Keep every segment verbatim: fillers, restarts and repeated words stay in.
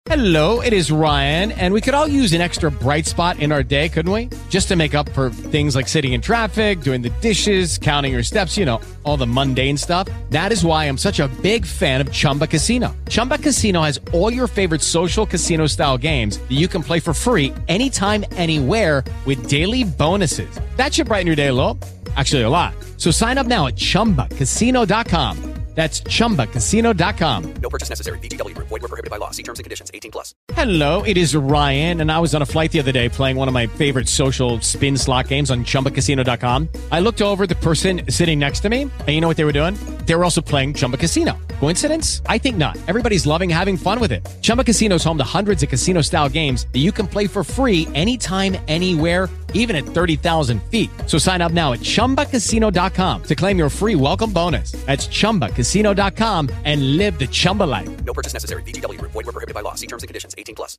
Hello, it is Ryan, and we could all use an extra bright spot in our day, couldn't we? Just to make up for things like sitting in traffic, doing the dishes, counting your steps, you know, all the mundane stuff. That is why I'm such a big fan of Chumba Casino. Chumba Casino has all your favorite social casino-style games that you can play for free anytime, anywhere with daily bonuses. That should brighten your day a little. Actually, a lot. So sign up now at chumba casino dot com. That's chumba casino dot com. No purchase necessary. V G W Group. Void where prohibited by law. See terms and conditions. eighteen plus. Hello, it is Ryan, and I was on a flight the other day playing one of my favorite social spin slot games on chumba casino dot com. I looked over at the person sitting next to me, and you know what they were doing? They were also playing Chumba Casino. Coincidence? I think not. Everybody's loving having fun with it. Chumba Casino is home to hundreds of casino-style games that you can play for free anytime, anywhere, even at thirty thousand feet. So sign up now at chumba casino dot com to claim your free welcome bonus. That's chumba casino dot com and live the Chumba life. No purchase necessary. V G W Group. Void where prohibited by law. See terms and conditions. eighteen plus.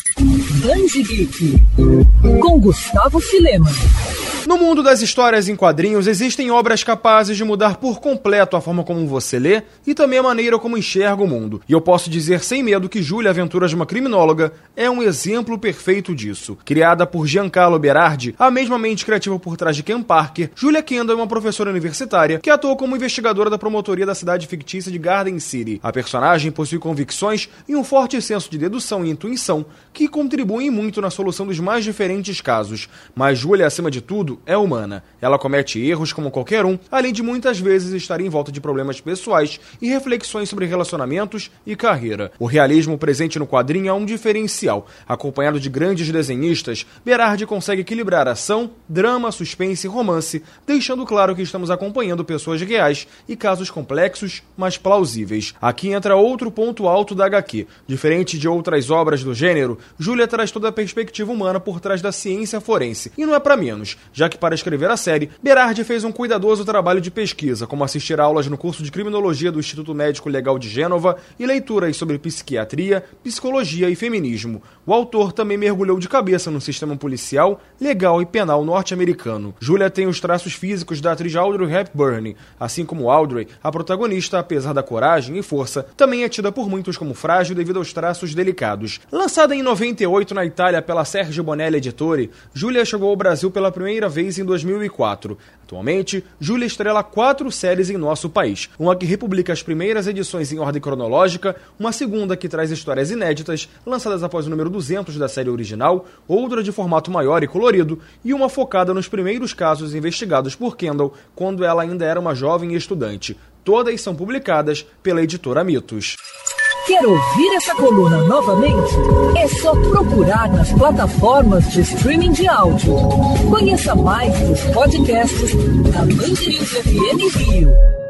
Grande Geek, com Gustavo Filema. No mundo das histórias em quadrinhos, existem obras capazes de mudar por completo a forma como você lê e também a maneira como enxerga o mundo. E eu posso dizer sem medo que Júlia, Aventuras de uma Criminóloga, é um exemplo perfeito disso. Criada por Giancarlo Berardi, a mesma mente criativa por trás de Ken Parker, Julia Kendall é uma professora universitária que atua como investigadora da promotoria da cidade fictícia de Garden City. A personagem possui convicções e um forte senso de dedução e intuição que contribuem muito na solução dos mais diferentes casos. Mas Julia, acima de tudo, é humana. Ela comete erros como qualquer um, além de muitas vezes estar em volta de problemas pessoais e reflexões sobre relacionamentos e carreira. O realismo presente no quadrinho é um diferencial. Acompanhado de grandes desenhistas, Berardi consegue equilibrar ação, drama, suspense e romance, deixando claro que estamos acompanhando pessoas reais e casos complexos, mas plausíveis. Aqui entra outro ponto alto da agá quê. Diferente de outras obras do gênero, Júlia traz toda a perspectiva humana por trás da ciência forense. E não é pra menos, já que para escrever a série, Berardi fez um cuidadoso trabalho de pesquisa, como assistir a aulas no curso de Criminologia do Instituto Médico Legal de Gênova e leituras sobre psiquiatria, psicologia e feminismo. O autor também mergulhou de cabeça no sistema policial, legal e penal norte-americano. Júlia tem os traços físicos da atriz Audrey Hepburn. Assim como Audrey, a protagonista, apesar da coragem e força, também é tida por muitos como frágil devido aos traços delicados. Lançada em noventa e oito na Itália pela Sergio Bonelli Editore, Júlia chegou ao Brasil pela primeira vez em dois mil e quatro. Atualmente, Júlia estrela quatro séries em nosso país. Uma que republica as primeiras edições em ordem cronológica, uma segunda que traz histórias inéditas, lançadas após o número duzentos da série original, outra de formato maior e colorido, e uma focada nos primeiros casos investigados por Kendall quando ela ainda era uma jovem estudante. Todas são publicadas pela editora Mitos. Quer ouvir essa coluna novamente? É só procurar nas plataformas de streaming de áudio. Conheça mais dos podcasts da Band News F M Rio.